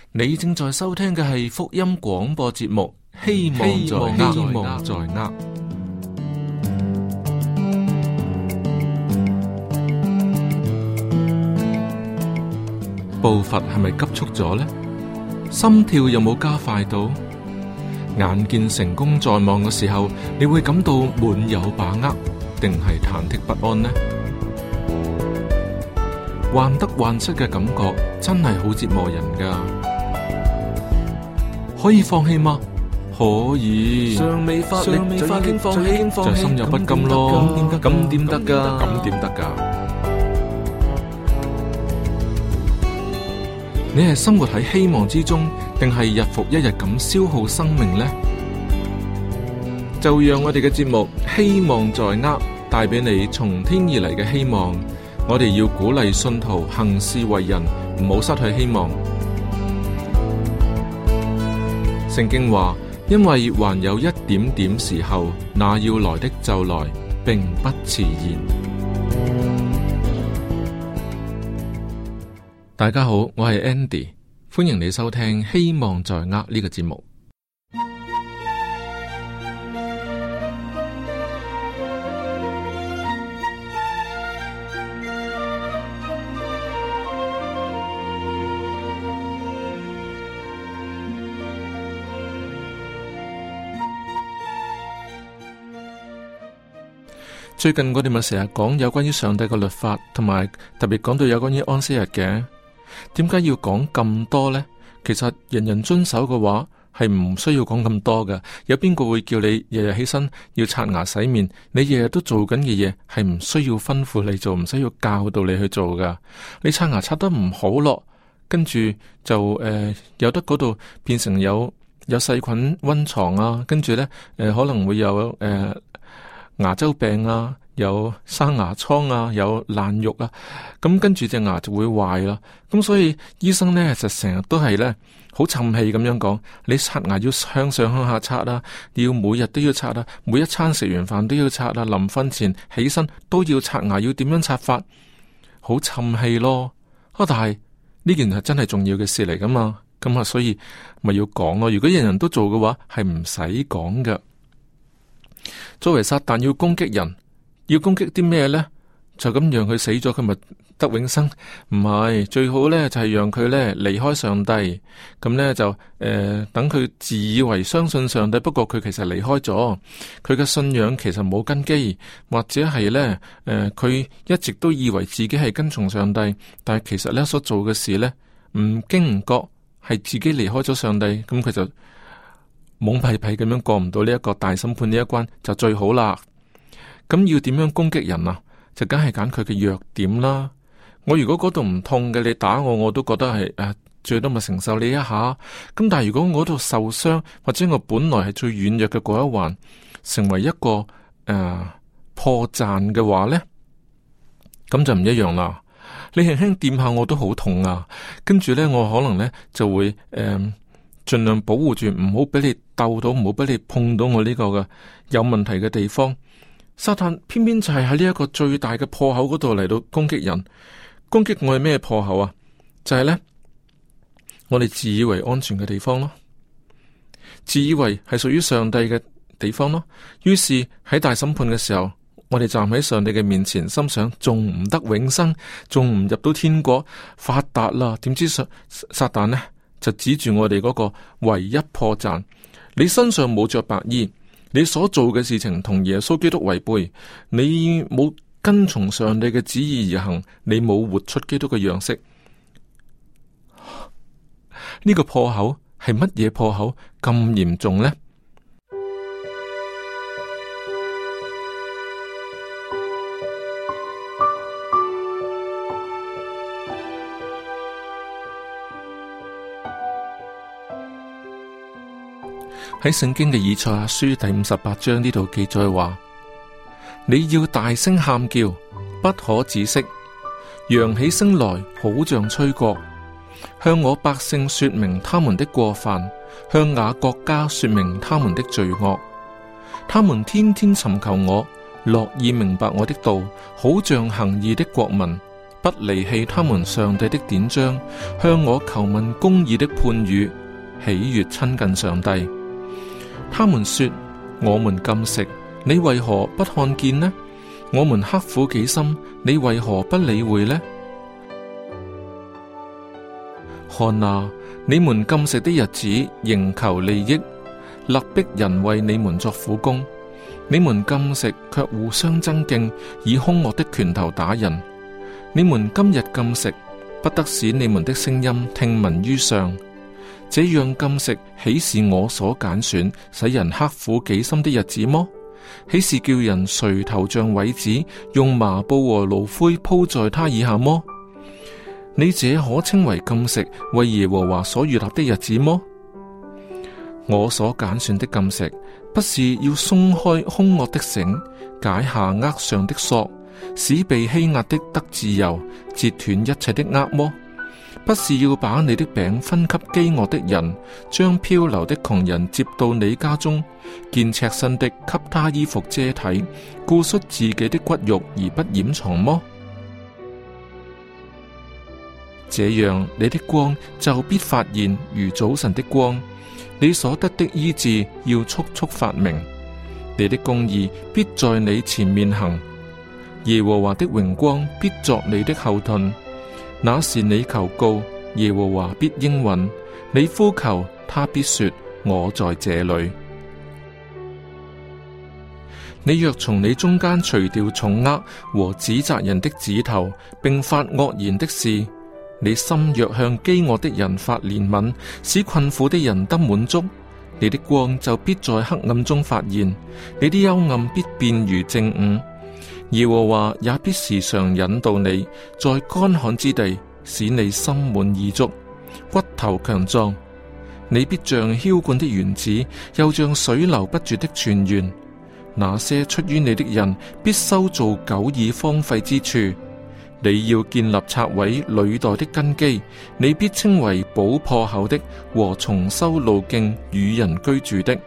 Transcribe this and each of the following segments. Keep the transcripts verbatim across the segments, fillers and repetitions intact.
你正在收聽嘅係福音廣播節目，希望在握，希望在握。步伐係咪急促咗呢？心跳有冇加快到？眼見成功在望嘅時候，你會感到滿有把握，定係忐忑不安呢？患得患失嘅感覺真係好折磨人噶。可以放棄嗎？可以。尚未發力就已經放棄，就心有不甘咯。咁點得噶？咁點得噶？你係生活喺希望之中，定係日復一日咁消耗生命呢？就讓我哋嘅節目希望在握，帶俾你從天而嚟嘅希望。我哋要鼓勵信徒行事為人，唔好失去希望。聖經話，因為還有一點點時候，那要來的就來，並不遲延。大家好，我係 Andy， 歡迎你收聽希望在握呢個節目。最近我哋咪成日講有關於上帝嘅律法，同埋特別講到有關於安息日嘅。點解要講咁多呢？其實人人遵守嘅話係唔需要講咁多嘅。有邊個會叫你日日起身要刷牙洗面？你日日都做緊嘅嘢係唔需要吩咐你做，唔需要教導你去做噶。你刷牙刷得唔好咯，跟住就誒、呃、有得嗰度變成有有細菌溫床啊，跟住呢，誒、呃、可能會有誒。呃牙周病啊，有生牙瘡啊，有爛肉啊，咁跟住隻牙就會壞啦。咁所以醫生呢，就成日都係呢，好沉氣咁樣講，你刷牙要向上向下刷啦，你要每日都要刷啦，每一餐食完飯都要刷啦，臨瞓前起身都要刷牙，要點樣刷法？好沉氣咯。啊，但係呢件係真係重要嘅事嚟噶嘛，咁啊，所以咪要講咯。如果人人都做嘅話，係唔使講噶。作為撒旦要攻擊人，要攻擊啲咩呢？就咁讓佢死咗，佢咪得永生？唔係，最好呢就係、是、讓佢呢離開上帝。咁呢就誒、呃、等佢自以為相信上帝，不過佢其實離開咗，佢嘅信仰其實冇根基，或者係呢誒佢、呃、一直都以為自己係跟從上帝，但係其實呢所做嘅事呢，唔經唔覺係自己離開咗上帝，咁佢就懵屁屁咁樣過唔到呢一個大審判呢一關就最好啦。咁要點樣攻擊人啊？就梗係揀佢嘅弱點啦。我如果嗰度唔痛嘅，你打我我都覺得係誒、啊，最多咪承受你一下。咁但係如果我嗰度受傷，或者我本來係最軟弱嘅嗰一環，成為一個誒、呃、破綻嘅話呢，咁就唔一樣啦。你輕輕掂下我都好痛啊，跟住呢，我可能呢就會誒。呃盡量保護住，唔好俾你鬥到，唔好俾你碰到我呢個嘅有問題嘅地方。撒旦偏偏就係喺呢一個最大嘅破口嗰度嚟到攻擊人。攻擊我係咩破口啊？就係呢：我哋自以為安全嘅地方咯，自以為係屬於上帝嘅地方咯。於是喺大審判嘅時候，我哋站喺上帝嘅面前，心想仲唔得永生，仲唔入到天國發達啦？點知撒撒旦呢？就指住我哋嗰個唯一破綻，你身上冇着白衣，你所做嘅事情同耶穌基督違背，你冇跟從上帝嘅旨意而行，你冇活出基督嘅樣式。呢個破口係乜嘢破口咁嚴重呢？喺聖經嘅以賽亞書第五十八章呢度記載話：你要大聲喊叫，不可止息，揚起聲來，好像吹角，向我百姓說明他們的過犯，向雅各家說明他們的罪惡。他們天天尋求我，樂意明白我的道，好像行義的國民，不不離棄他們上帝的典章，向我求問公義的判語，喜悅親近上帝。他們說：我們禁食，你為何不看見呢？我們刻苦己心，你為何不理會呢？看哪，你們禁食的日子，仍求利益，勒逼人為你們作苦工。你們禁食，卻互相爭競，以兇惡的拳頭打人。你們今日禁食，不得使你們的聲音聽聞於上。這樣禁食，豈是我所揀選，使人刻苦己心的日子麼？豈是叫人垂頭像葦子，用麻布和爐灰鋪在他以下麼？你這可稱為禁食，為耶和華所預立的日子麼？我所揀選的禁食，不是要鬆開兇惡的繩，解下軛上的索，使被欺壓的得自由，截斷一切的軛麼？不是要把你的餅分給飢餓的人，將漂流的窮人接到你家中，見赤身的給他衣服遮體，顧恤自己的骨肉而不掩藏麼？這樣你的光就必發現如早晨的光，你所得的醫治要速速發明，你的公義必在你前面行，耶和華的榮光必作你的後盾。那時你求告，耶和華必應允；你呼求，他必說：我在這裏。你若從你中間除掉重軛和指責人的指頭，並發惡言的事，你心若向飢餓的人發憐憫，使困苦的人得滿足，你的光就必在黑暗中發現，你的幽暗必變如正午。耶和華也必時常引導你，在乾旱之地，使你心滿意足，骨頭強壯。你必像澆灌的園子，又像水流不絕的泉源。那些出於你的人，必修造久已荒廢之處。你要建立拆毀歷代的根基，你必稱為補破口的和重修路徑與人居住的。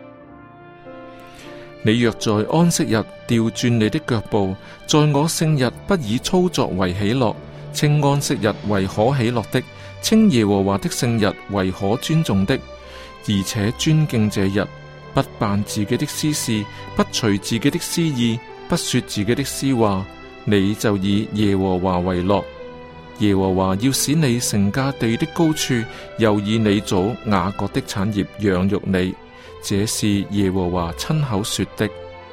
你若在安息日調轉你的腳步，在我聖日不以操作為喜樂，稱安息日為可喜樂的，稱耶和華的聖日為可尊重的，而且尊敬這日，不辦自己的私事，不隨自己的私意，不說自己的私話，你就以耶和華為樂。耶和華要使你乘駕地的高處，又以你祖雅各的產業養育你。這是耶和華親口說的。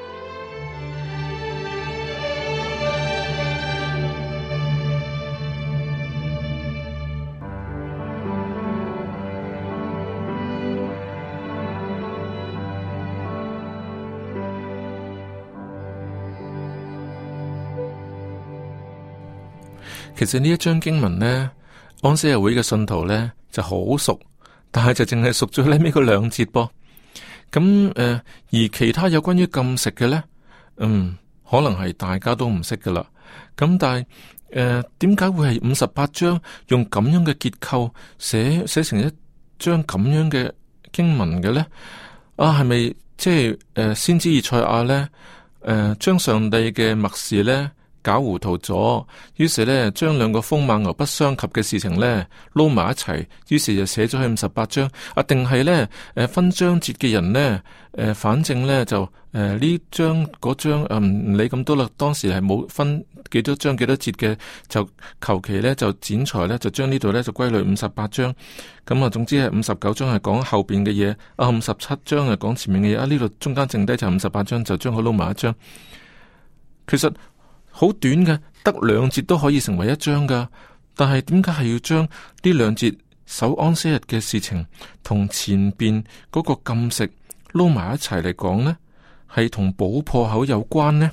其實呢一章經文呢，安息日會嘅信徒呢就好熟，但係就淨係熟咗呢尾嗰兩節噃。咁誒、呃，而其他有關於禁食嘅呢，嗯，可能係大家都唔識噶啦。咁但係誒，點解會係五十八章用咁樣嘅結構寫寫成一章咁樣嘅經文嘅呢？啊，係咪即係誒先知以賽亞呢？誒、呃，將上帝嘅默示呢搞糊塗咗，於是呢，將兩個風馬牛不相及嘅事情呢撈埋一齊，於是就寫咗去五十八章。啊，定係呢誒、呃、分章節嘅人呢，誒、呃，反正呢，就誒呢章嗰章誒唔理咁多啦。當時係冇分幾多章幾多節嘅，就求其呢，就剪裁呢，就將呢度呢，就歸類五十八章。咁啊，總之係五十九章係講後邊嘅嘢，啊五十七章係講前面嘅嘢。啊呢度中間剩低就五十八章，就將佢撈埋一章。其實好短嘅，得兩節都可以成為一章噶。但係點解係要將呢兩節守安息日嘅事情同前邊嗰個禁食撈埋一齊嚟講呢？係同補破口有關呢？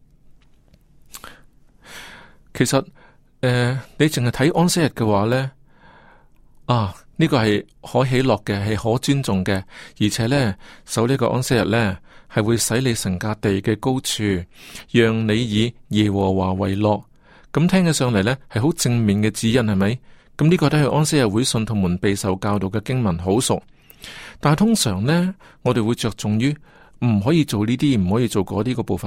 其實誒、呃，你淨係睇安息日嘅話呢，啊呢、這個係可喜樂嘅，係可尊重嘅，而且呢，守呢個安息日呢，係會使你乘駕地嘅高處，讓你以耶和華為樂。咁聽起上嚟呢，係好正面嘅指引，係咪？咁呢個都係安息日會信徒們備受教導嘅經文，好熟。但係通常呢，我哋會着重於唔可以做呢啲，唔可以做嗰啲個部分。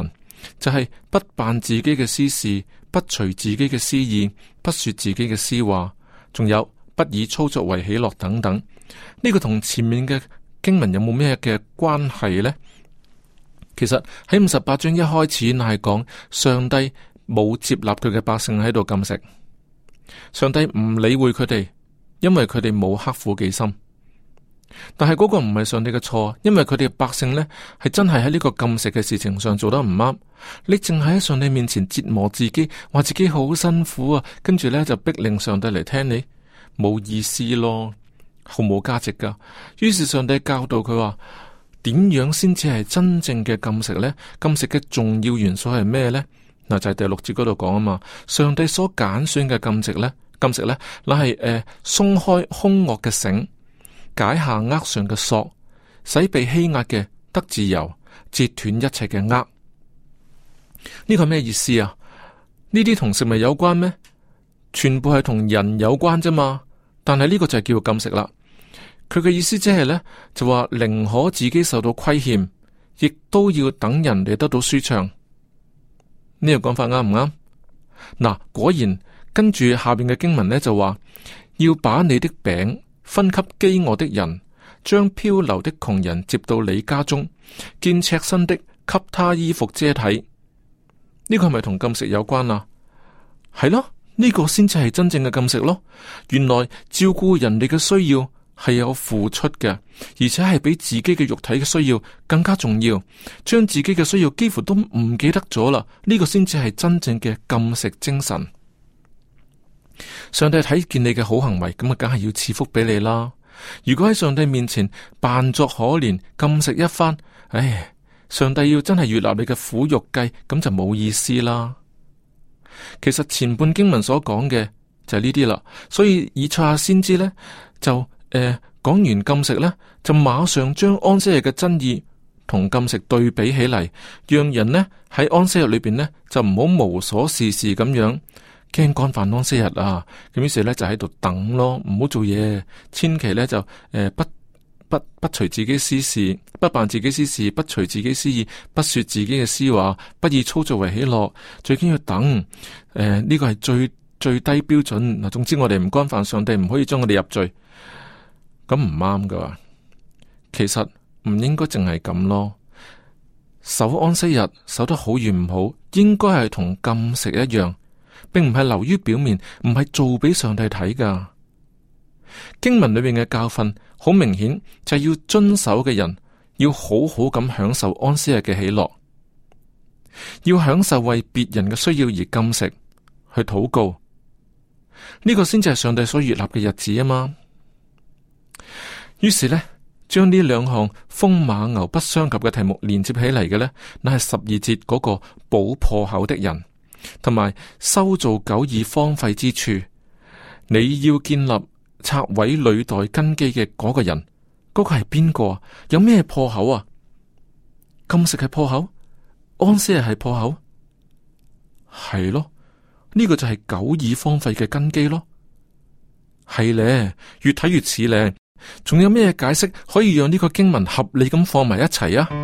就係、是、不辦自己嘅私事，不隨自己嘅私意，不說自己嘅私話，仲有不以操作為喜樂等等。呢、這個同前面嘅經文有冇咩嘅關係呢？其實喺五十八章一開始，乃係講上帝冇接納佢嘅百姓喺度禁食，上帝唔理會佢哋，因為佢哋冇刻苦己心。但係嗰個唔係上帝嘅錯，因為佢哋嘅百姓呢係真係喺呢個禁食嘅事情上做得唔啱。你淨係喺上帝面前折磨自己，話自己好辛苦啊，跟住呢就逼令上帝嚟聽你，冇意思咯，毫無價值噶。於是上帝教導佢話，點樣先至係真正嘅禁食呢？禁食嘅重要元素係咩呢？嗱，就係第六節嗰度講啊嘛。上帝所揀選嘅禁食呢，禁食呢，乃係誒鬆開兇惡嘅繩，解下軛上嘅索，使被欺壓嘅得自由，截斷一切嘅軛。呢個係咩意思啊？呢啲同食物有關咩？全部係同人有關啫嘛。但係呢個就係叫做禁食啦。佢嘅意思即係呢，就話寧可自己受到虧欠，亦都要等人哋得到舒暢。呢個講法啱唔啱？嗱，果然跟住下邊嘅經文呢，就話要把你的餅分給飢餓的人，將漂流的窮人接到你家中，見赤身的給他衣服遮體。呢個係咪同禁食有關啊？係咯，呢個先至係真正嘅禁食咯。原來照顧人哋嘅需要係有付出嘅，而且係比自己嘅肉體嘅需要更加重要。將自己嘅需要幾乎都唔記得咗啦，呢個先至係真正嘅禁食精神。上帝睇見你嘅好行為，咁啊，梗係要賜福俾你啦。如果喺上帝面前扮作可憐，禁食一番，唉，上帝要真係悅納你嘅苦肉計，咁就冇意思啦。其實前半經文所講嘅就係呢啲啦，所以以賽亞先知呢，就誒講、呃、完禁食呢，就馬上將安息日嘅真義同禁食對比起嚟，讓人呢喺安息日裏邊呢，就唔好無所事事咁樣。驚干犯安息日啊！咁於是咧就喺度等咯，唔好做嘢，千祈咧就誒、呃、不不不隨自己私事，不辦自己私事，不隨自己私意，不說自己嘅私話，不以操作為喜樂。最緊要等，誒、呃、呢、這個係最最低標準嗱。總之我哋唔干犯上帝，唔可以將我哋入罪，咁唔啱噶。其實唔應該淨係咁咯。守安息日守得好與唔好，應該係同禁食一樣。並唔係流於表面，唔係做俾上帝睇噶。經文裏面嘅教訓好明顯，就係要遵守嘅人要好好咁享受安息日嘅喜樂，要享受為別人嘅需要而禁食去禱告，呢、這個先至係上帝所悅納嘅日子啊嘛。於是呢，將呢兩項風馬牛不相及嘅題目連接起嚟嘅呢，乃係十二節嗰個補破口的人。同埋修造久已荒廢之處，你要建立拆毀履代根基嘅嗰個人，嗰、嗰個係邊個？有咩破口啊？禁食係破口，安息日係破口，係咯？呢、呢個就係久已荒廢嘅根基咯。係咧，越睇越似咧。仲有咩解釋可以讓呢個經文合理咁放埋一齊啊？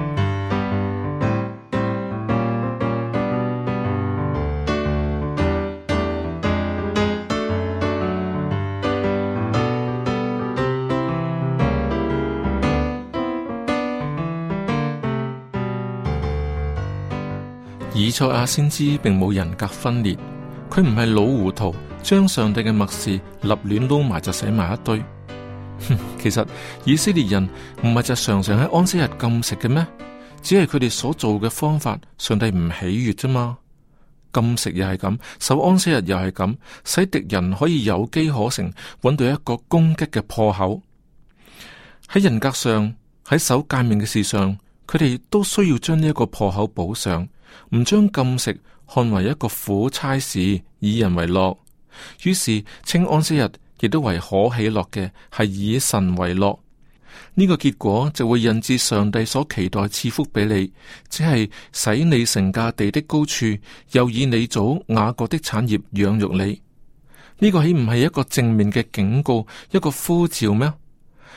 以賽亞先知並冇人格分裂，佢唔係老糊塗，將上帝嘅默示立亂撈埋就寫埋一堆。其實以色列人唔係就常常喺安息日禁食嘅咩？只係佢哋所做嘅方法，上帝唔喜悅啫嘛。禁食又係咁，守安息日又係咁，使敵人可以有機可乘，揾到一個攻擊嘅破口。喺人格上，喺守誡命嘅事上，佢哋都需要將呢一個破口補上。唔將禁食看為一個苦差事，以人為樂，於是稱安息日亦都為可喜樂嘅，係以神為樂。呢、這個結果就會引致上帝所期待賜福俾你，只係使你乘駕地的高處，又以你祖雅各的產業養育你。呢、這個豈唔係一個正面嘅警告，一個呼召咩？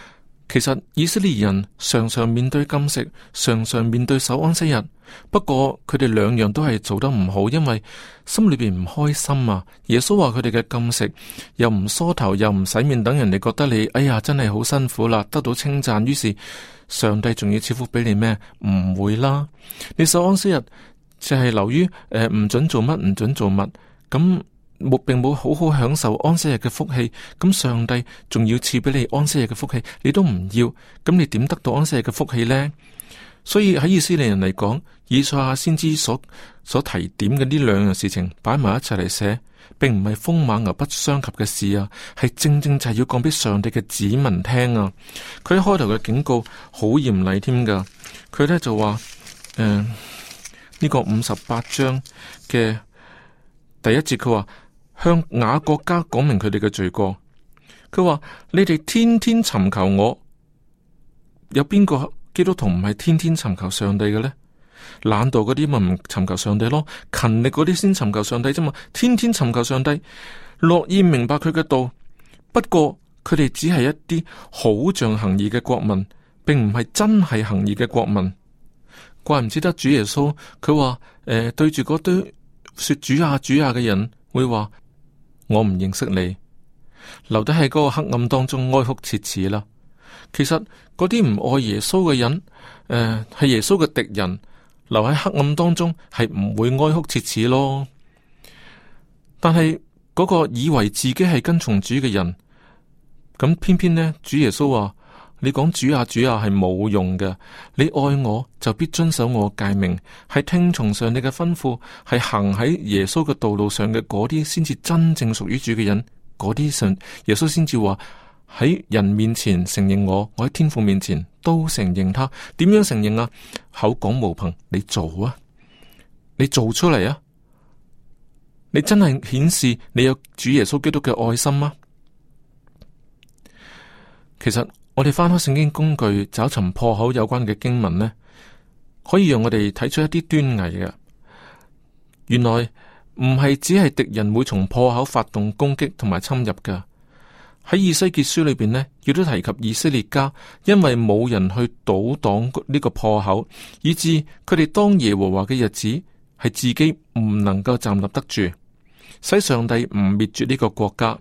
其實以色列人常常面對禁食，常常面對守安息日。不過佢哋兩樣都係做得唔好，因為心裏邊唔開心啊。耶穌話佢哋嘅禁食又唔梳頭又唔洗面，等人哋覺得你哎呀真係好辛苦啦，得到稱讚。於是上帝仲要賜福俾你咩？唔會啦。你守安息日就係流於誒唔准做乜唔准做乜，咁冇並冇好好享受安息日嘅福氣。咁上帝仲要賜俾你安息日嘅福氣，你都唔要，咁你點得到安息日嘅福氣呢？所以喺以色列人嚟講，以賽亞先知所所提點嘅呢兩樣事情擺埋一齊嚟寫，並唔係風馬牛不相及嘅事啊，係正正就係要講俾上帝嘅子民聽啊。佢一開頭嘅警告好嚴厲添噶，佢咧就話誒呢個五十八章嘅第一節，佢話向雅各家講明佢哋嘅罪過。佢話你哋天天尋求我，有邊個基督徒唔係天天尋求上帝嘅呢？懶惰嗰啲咪唔尋求上帝咯，勤力嗰啲先尋求上帝啫嘛。天天尋求上帝，樂意明白佢嘅道。不過佢哋只係一啲好像行義嘅國民，並唔係真係行義嘅國民。怪唔之得主耶穌佢話誒，對住嗰堆說主啊主啊嘅人，會話我唔認識你，留低喺嗰個黑暗當中哀哭切齒啦。其實嗰啲唔愛耶穌嘅人，誒、呃、係耶穌嘅敵人，留喺黑暗當中係唔會哀哭切齒咯。但係嗰個以為自己係跟從主嘅人，咁偏偏呢，主耶穌話你講主啊主啊係冇用嘅，你愛我就必遵守我誡命，係聽從上帝嘅吩咐，係行喺耶穌嘅道路上嘅嗰啲，先至真正屬於主嘅人。嗰啲信耶穌先至話喺人面前承認我，我喺天父面前都承認他。點樣承認啊？口講無憑，你做啊，你做出嚟啊，你真係顯示你有主耶穌基督嘅愛心嗎？其實我哋翻開聖經工具找尋破口有關嘅經文呢，可以讓我哋睇出一啲端倪嘅。原來唔係只係敵人會從破口發動攻擊同埋侵入㗎。喺以西結書裏邊呢，亦都提及以色列家因為冇人去堵擋呢個破口，以致佢哋當耶和華嘅日子係自己唔能夠站立得住，使上帝唔滅絕呢個國家。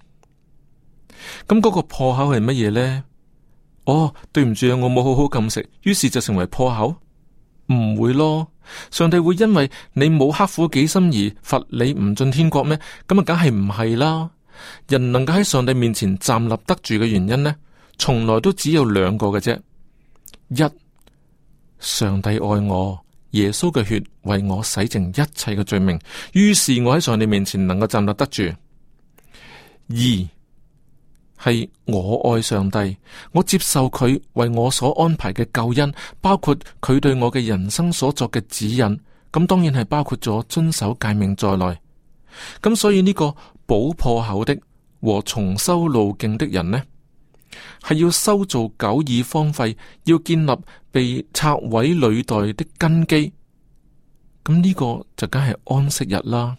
咁嗰個破口係乜嘢呢？哦，對唔住啊，我冇好好禁食，於是就成為破口？唔會咯，上帝會因為你冇刻苦己心而罰你唔進天國咩？咁啊，梗係唔係啦。人能夠喺上帝面前站立得住嘅原因呢，從來都只有兩個嘅啫。一，上帝愛我，耶穌嘅血為我洗淨一切嘅罪名，於是我喺上帝面前能夠站立得住。二，係我愛上帝，我接受佢為我所安排嘅救恩，包括佢對我嘅人生所作嘅指引，咁當然係包括咗遵守誡命在內。咁所以呢個補破口的和重修路徑的人呢，係要修造久已荒廢，要建立被拆毀履代的根基。咁呢個就梗係安息日啦。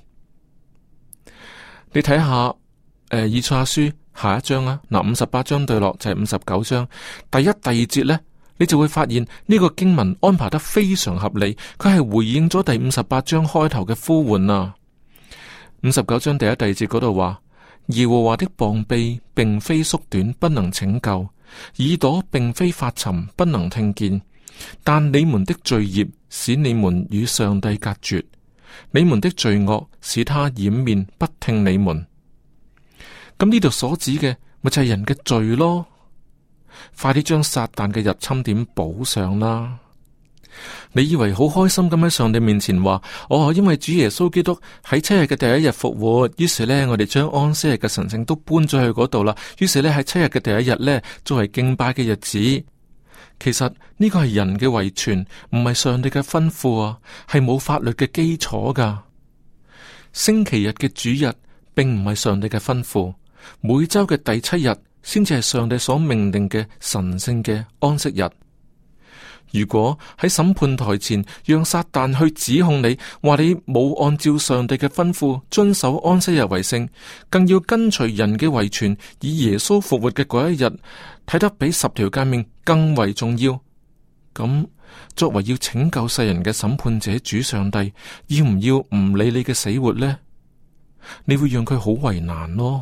你睇下誒、呃，以賽亞書下一章啊，嗱，五十八章對落就係五十九章第一、第二節呢，你就會發現呢個經文安排得非常合理，佢係回應咗第五十八章開頭嘅呼喚啊。五十九章第一、第二節嗰度話：耶和華的膀臂並非縮短，不能拯救；耳朵並非發沉，不能聽見。但你們的罪孽使你們與上帝隔絕，你們的罪惡使他掩面不聽你們。咁呢度所指嘅咪就係人嘅罪咯。快啲將撒旦嘅入侵點補上啦！你以為好開心咁喺上帝面前話：哦，因為主耶穌基督喺七日嘅第一日復活，於是呢，我哋將安息日嘅神聖都搬咗去嗰度啦。於是呢，喺七日嘅第一日呢，作為敬拜嘅日子。其實呢個係人嘅遺傳，唔係上帝嘅吩咐啊，係冇法律嘅基礎噶。星期日嘅主日並唔係上帝嘅吩咐，每周嘅第七日先至係上帝所命令嘅神聖嘅安息日。 如果喺審判台前讓撒旦去指控你，話你冇按照上帝嘅吩咐遵守安息日為聖，更要跟隨人嘅遺傳，以耶穌復活嘅嗰一日睇得比十條誡命更為重要，咁作為要拯救世人嘅審判者主上帝，要唔要唔理你嘅死活呢？你會讓佢好為難咯。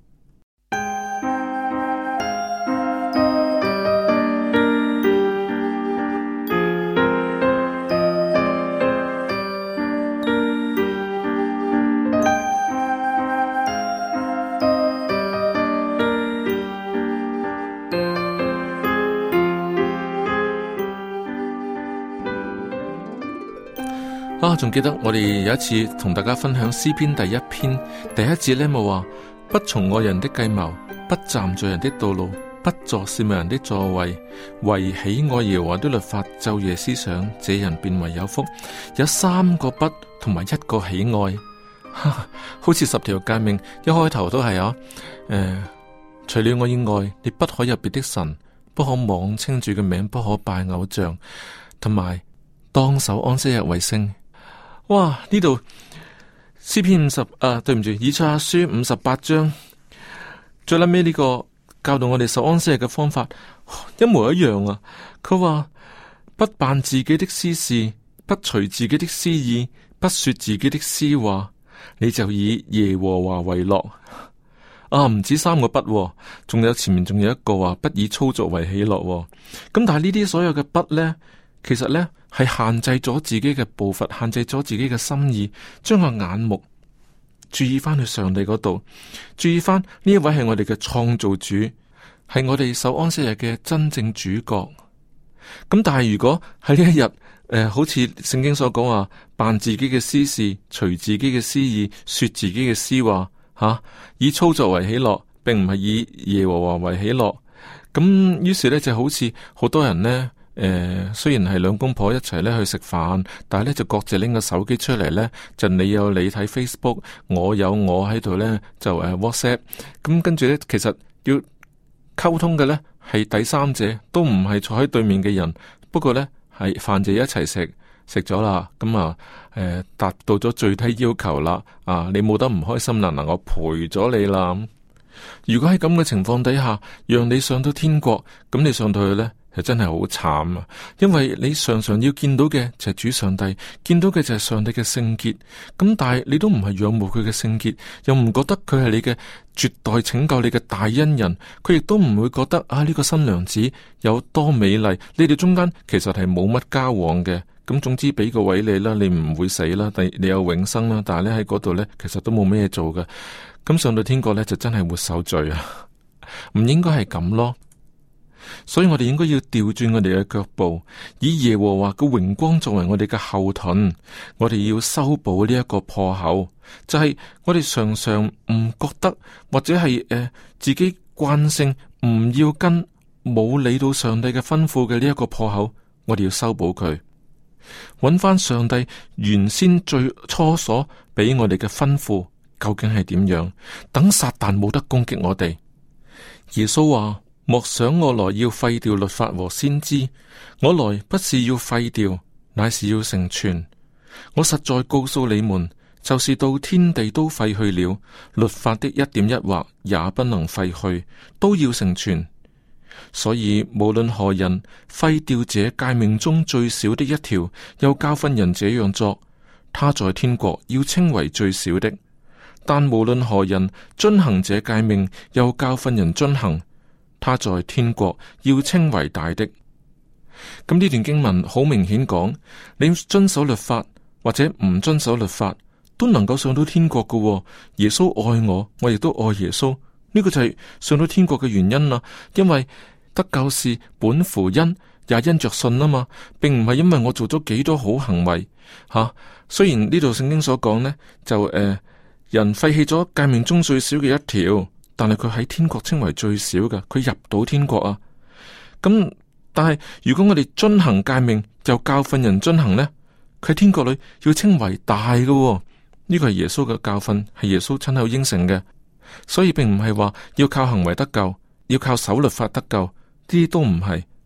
啊，仲記得我哋有一次同大家分享詩篇第一篇第一節呢，冇話不從惡人的計謀，不站在人的道路，不坐褻慢人的座位，為喜愛耶和華的律法，晝夜思想，這人便為有福。有三個不同埋一個喜愛，好似十條誡命一開頭都係啊，誒、呃，除了我以外，你不可有別的神，不可妄稱主嘅名，不可拜偶像，同埋當守安息日為聖。哇！呢度詩篇五十啊，對唔住，以賽亞書五十八章最撚尾呢個教導我哋守安息日嘅方法一模一樣啊！佢話不辦自己的私事，不隨自己的私意，不說自己的私話，你就以耶和華為樂。啊，唔止三個不，仲有前面仲有一個話不以操作為喜樂。咁但係呢啲所有嘅不呢，其實呢，係限制咗自己嘅步伐，限制咗自己嘅心意，將個眼目注意翻去上帝嗰度，注意翻呢一位係我哋嘅創造主，係我哋守安息日嘅真正主角。咁但係如果喺呢一日，誒、呃，好似聖經所講話，辦自己嘅私事，隨自己嘅私意，說自己嘅私話，吓、啊、以操作為喜樂，並唔係以耶和華為喜樂。咁於是呢，就好似好多人呢。誒、呃，雖然係兩公婆一齊咧去食飯，但係咧就各自拎個手機出嚟咧，就你有你睇 Facebook，我有我喺度咧就誒、uh, WhatsApp，咁跟住咧其實要溝通嘅咧係第三者，都唔係坐喺對面嘅人，不過咧係飯就一齊食食咗啦，咁啊誒達到咗最低要求啦，啊你冇得唔開心啦，嗱我陪咗你啦。如果喺咁嘅情況底下，讓你上到天國，咁你上到去咧？係真係好慘啊！因為你常常要見到嘅就係主上帝，見到嘅就係上帝嘅聖潔。咁但係你都唔係仰慕佢嘅聖潔，又唔覺得佢係你嘅絕代拯救你嘅大恩人，佢亦都唔會覺得啊呢、這個新娘子有多美麗。你哋中間其實係冇乜交往嘅。咁總之俾個位你啦，你唔會死啦，但你有永生啦。但係咧喺嗰度咧，其實都冇咩嘢做嘅。咁上到天國咧就真係活受罪啊！唔應該係咁咯。所以我哋應該要調轉我哋嘅腳步，以耶和華嘅榮光作為我哋嘅後盾。我哋要修補呢一個破口，就係、是、我哋常常唔覺得，或者係誒、呃、自己慣性唔要跟冇理到上帝嘅吩咐嘅呢一個破口，我哋要修補佢，揾翻上帝原先最初所俾我哋嘅吩咐究竟係點樣，等撒旦冇得攻擊我哋。耶穌話：莫想我來要廢掉律法和先知，我來不是要廢掉，乃是要成全。我實在告訴你們，就是到天地都廢去了，律法的一點一畫也不能廢去，都要成全。所以無論何人廢掉這誡命中最小的一條，又教訓人這樣做，他在天國要稱為最小的；但無論何人遵行這誡命，又教訓人遵行，他在天國要稱為大的。咁呢段經文好明顯講，你遵守律法或者唔遵守律法，都能夠上到天國㗎喎。耶穌愛我，我亦都愛耶穌，呢個就係上到天國嘅原因啦。因為得救是本乎恩，也因着信啊嘛，並唔係因為我做咗幾多好行為吓、啊。雖然呢度聖經所講呢，就誒、呃、人廢棄咗誡命中最小嘅一條。但係佢喺天國稱為最少嘅，佢入到天國啊。咁但係如果我哋遵行誡命，又教訓人遵行呢，佢喺天國裏要稱為大嘅、哦。呢、這個係耶穌嘅教訓，係耶穌親口應承嘅。所以並唔係話要靠行為得救，要靠守律法得救，呢啲都唔係。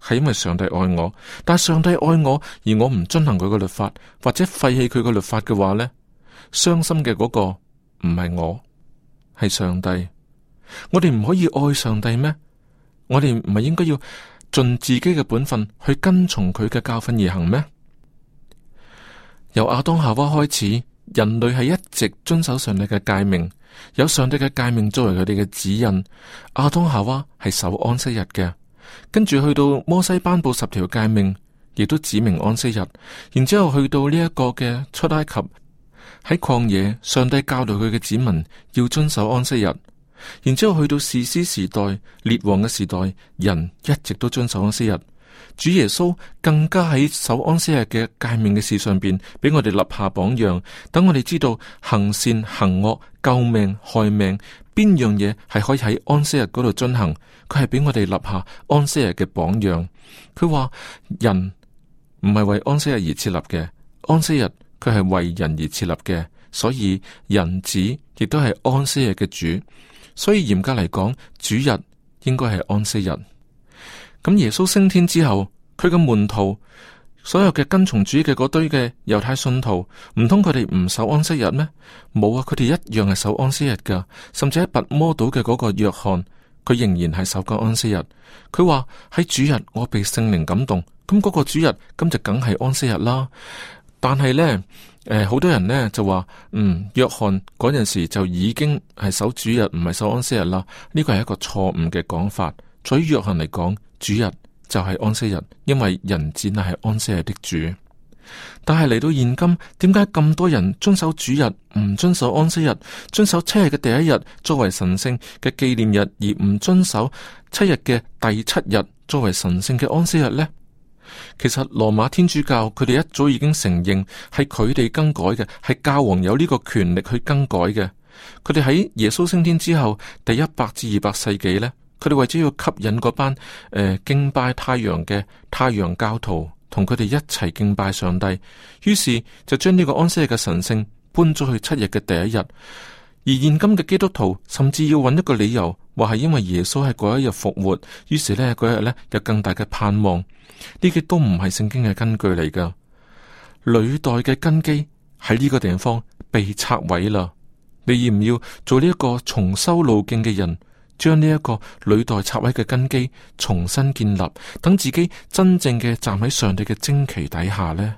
係因為上帝愛我。但係上帝愛我，而我唔遵行佢嘅律法，或者廢棄佢嘅律法嘅話呢，傷心嘅嗰個唔係我，係上帝。我哋唔可以愛上帝咩？我哋唔係應該要盡自己嘅本分去跟從佢嘅教訓而行咩？由亞當夏娃開始，人類係一直遵守上帝嘅誡命，有上帝嘅誡命作為佢哋嘅指引。亞當夏娃係守安息日嘅，跟住去到摩西頒布十條誡命，亦都指明安息日。然之後去到呢一個嘅出埃及，喺曠野，上帝教導佢嘅子民要遵守安息日。然之後去到士師時代、列王嘅時代，人一直都遵守安息日。主耶穌更加喺守安息日嘅誡命嘅事上邊，俾我哋立下榜樣，等我哋知道行善行惡、救命害命，邊樣嘢係可以喺安息日嗰度進行。佢係俾我哋立下安息日嘅榜樣。佢話人唔係為安息日而設立嘅，安息日佢係為人而設立嘅，所以人子亦都係安息日嘅主。所以嚴格嚟講，主日應該係安息日。咁耶穌升天之後，佢嘅門徒，所有嘅跟從主嘅嗰堆嘅猶太信徒，唔通佢哋唔守安息日咩？冇啊，佢哋一樣係守安息日噶。甚至喺拔摩島嘅嗰個約翰，佢仍然係守緊安息日。佢話喺主日我被聖靈感動，咁嗰個主日咁就梗係安息日啦。但係呢，誒、呃，好多人呢就話，嗯，約翰嗰陣時就已經係守主日，唔係守安息日啦。呢個係一個錯誤嘅講法。對於約翰嚟講，主日就係安息日，因為人子乃係安息日的主。但係嚟到現今，點解咁多人遵守主日，唔遵守安息日，遵守七日嘅第一日作為神聖嘅紀念日，而唔遵守七日嘅第七日作為神聖嘅安息日呢？其實羅馬天主教佢哋一早已經承認係佢哋更改嘅，係教皇有呢個權力去更改嘅。佢哋喺耶穌升天之後第一百至二百世紀呢，佢哋為咗要吸引嗰班誒、呃、敬拜太陽嘅太陽教徒同佢哋一齊敬拜上帝，於是就將呢個安息日嘅神聖搬咗去七日嘅第一日。而現今嘅基督徒甚至要揾一個理由，話係因為耶穌喺嗰一日復活，於是呢嗰一日呢有更大嘅盼望。呢啲都唔係聖經嘅根據嚟噶，履代嘅根基喺呢個地方被拆毀啦。你要唔要做呢一個重修路徑嘅人，將呢一個履代拆毀嘅根基重新建立，等自己真正嘅站喺上帝嘅旌旗底下呢？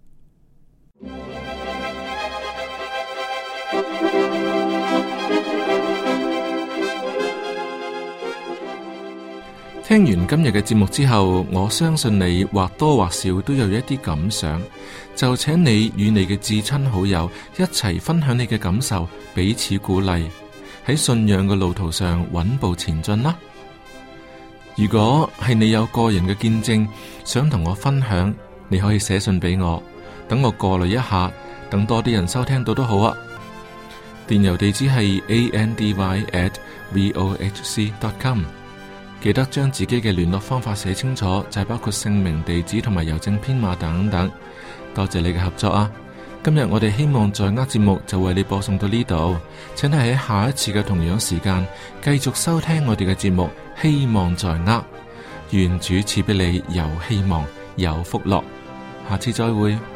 聽完今日嘅節目之後，我相信你或多或少都有一啲感想，就請你與你嘅至親好友一齊分享你嘅感受，彼此鼓勵，喺信仰嘅路途上穩步前進啦。如果係你有個人嘅見證想同我分享，你可以寫信俾我，等我過濾一下，等多啲人收聽到都好啊。電郵地址係 a n d y at vohc dot com。記得將自己嘅聯絡方法寫清楚，就係包括姓名、地址同埋郵政編碼等等。多謝你嘅合作啊！今日我哋希望在握節目就為你播送到呢度，請你喺下一次嘅同樣時間繼續收聽我哋嘅節目。希望在握，願主賜俾你有希望、有福樂。下次再會。